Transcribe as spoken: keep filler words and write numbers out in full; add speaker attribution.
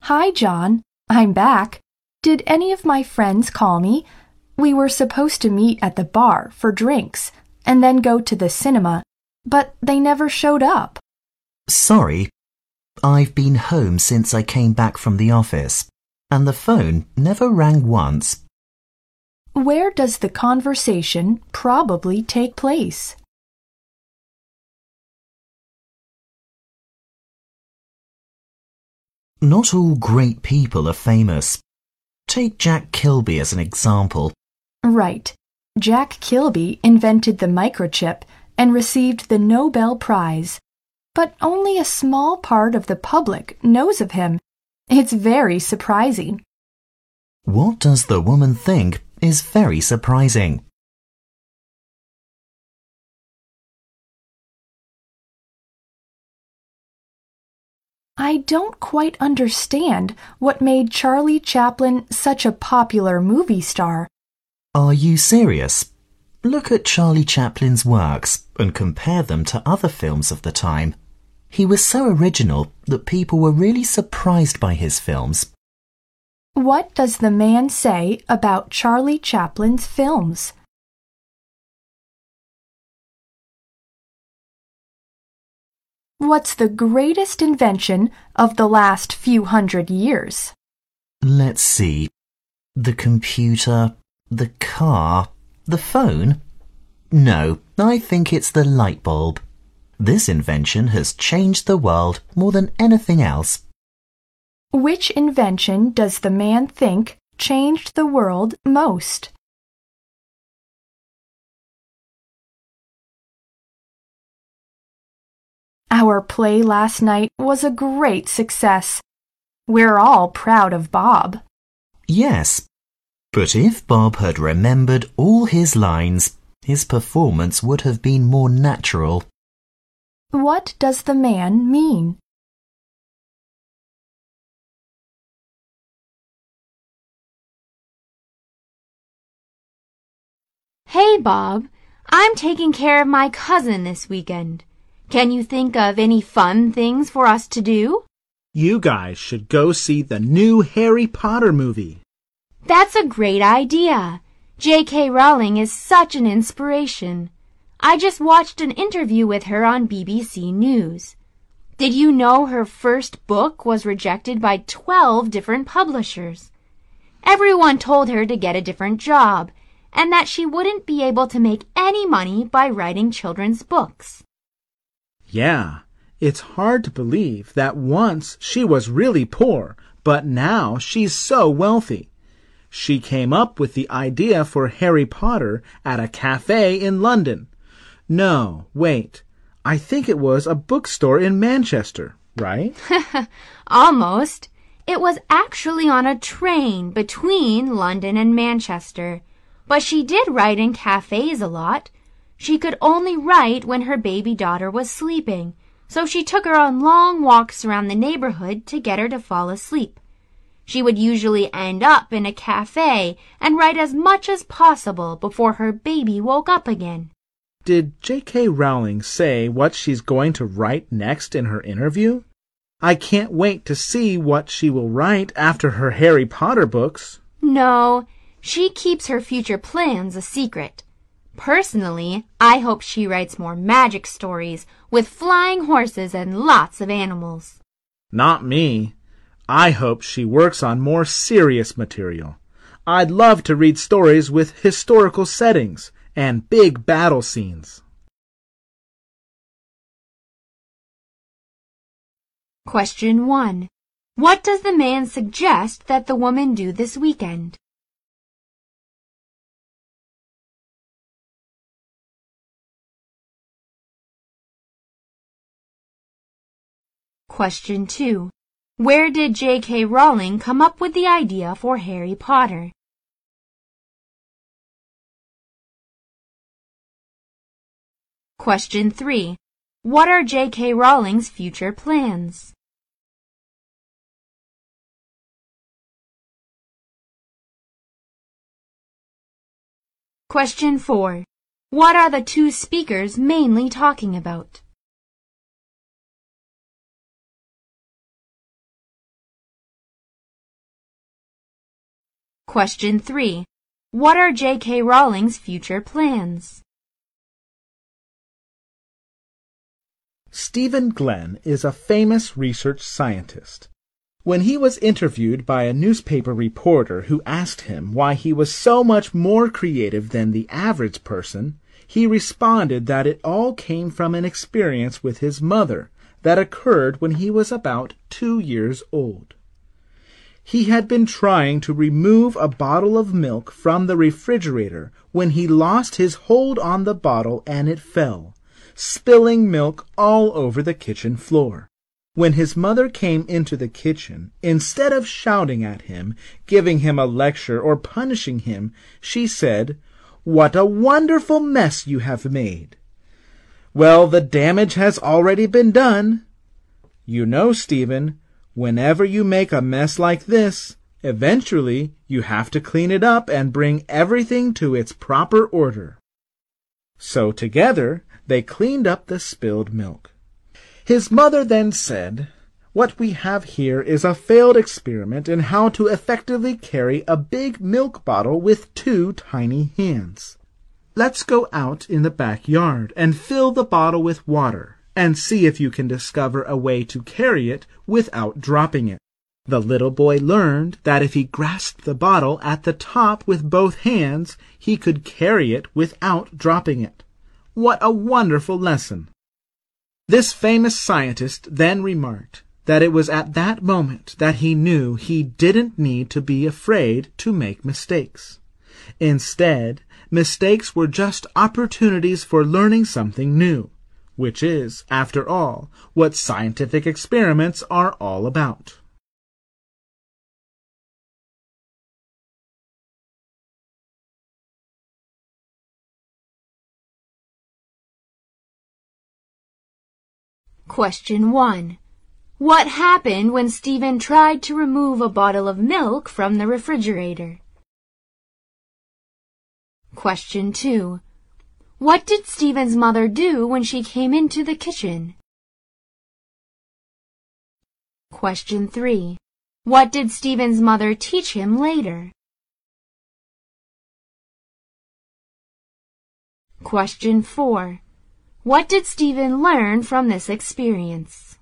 Speaker 1: Hi, John. I'm back. Did any of my friends call me? We were supposed to meet at the bar for drinks and then go to the cinema, but they never showed up.
Speaker 2: Sorry. I've been home since I came back from the office, and the phone never rang once.
Speaker 1: Where does the conversation probably take place?
Speaker 2: Not all great people are famous. Take Jack Kilby as an example.
Speaker 1: Right. Jack Kilby invented the microchip and received the Nobel Prize. But only a small part of the public knows of him. It's very surprising.
Speaker 2: What does the woman think is very surprising.
Speaker 1: I don't quite understand what made Charlie Chaplin such a popular movie star.
Speaker 2: Are you serious? Look at Charlie Chaplin's works and compare them to other films of the time. He was so original that people were really surprised by his films.
Speaker 1: What does the man say about Charlie Chaplin's films? What's the greatest invention of the last few hundred years?
Speaker 2: Let's see. The computer, the car, the phone? No, I think it's the light bulb. This invention has changed the world more than anything else.
Speaker 1: Which invention does the man think changed the world most? Our play last night was a great success. We're all proud of Bob.
Speaker 2: Yes, but if Bob had remembered all his lines, his performance would have been more natural.
Speaker 1: What does the man mean?
Speaker 3: Hey, Bob. I'm taking care of my cousin this weekend. Can you think of any fun things for us to do?
Speaker 4: You guys should go see the new Harry Potter movie.
Speaker 3: That's a great idea. J K Rowling is such an inspiration. I just watched an interview with her on B B C News. Did you know her first book was rejected by twelve different publishers? Everyone told her to get a different job and that she wouldn't be able to make any money by writing children's books.
Speaker 4: Yeah, it's hard to believe that once she was really poor, but now she's so wealthy. She came up with the idea for Harry Potter at a cafe in London. No, wait, I think it was a bookstore in Manchester, right?
Speaker 3: Almost. It was actually on a train between London and Manchester. But she did write in cafes a lot. She could only write when her baby daughter was sleeping, so she took her on long walks around the neighborhood to get her to fall asleep. She would usually end up in a cafe and write as much as possible before her baby woke up again.
Speaker 4: Did J K Rowling say what she's going to write next in her interview? I can't wait to see what she will write after her Harry Potter books.
Speaker 3: No, she keeps her future plans a secret. Personally, I hope she writes more magic stories with flying horses and lots of animals.
Speaker 4: Not me. I hope she works on more serious material. I'd love to read stories with historical settings and big battle scenes.
Speaker 3: Question one. What does the man suggest that the woman do this weekend? Question two. Where did J K Rowling come up with the idea for Harry Potter? Question three. What are J K Rowling's future plans? Question four. What are the two speakers mainly talking about? Question three. What are J K Rowling's future plans?
Speaker 4: Stephen Glenn is a famous research scientist. When he was interviewed by a newspaper reporter who asked him why he was so much more creative than the average person, he responded that it all came from an experience with his mother that occurred when he was about two years old. He had been trying to remove a bottle of milk from the refrigerator when he lost his hold on the bottle and it fell, spilling milk all over the kitchen floor. When his mother came into the kitchen, instead of shouting at him, giving him a lecture, or punishing him, she said, "What a wonderful mess you have made." "Well, the damage has already been done." "You know, Stephen, whenever you make a mess like this, eventually you have to clean it up and bring everything to its proper order." So together they cleaned up the spilled milk. His mother then said, "What we have here is a failed experiment in how to effectively carry a big milk bottle with two tiny hands. Let's go out in the backyard and fill the bottle with water and see if you can discover a way to carry it without dropping it." The little boy learned that if he grasped the bottle at the top with both hands, he could carry it without dropping it. What a wonderful lesson! This famous scientist then remarked that it was at that moment that he knew he didn't need to be afraid to make mistakes. Instead, mistakes were just opportunities for learning something new, which is, after all, what scientific experiments are all about.
Speaker 3: Question one. What happened when Stephen tried to remove a bottle of milk from the refrigerator? Question two. What did Stephen's mother do when she came into the kitchen? Question three. What did Stephen's mother teach him later? Question four. What did Stephen learn from this experience?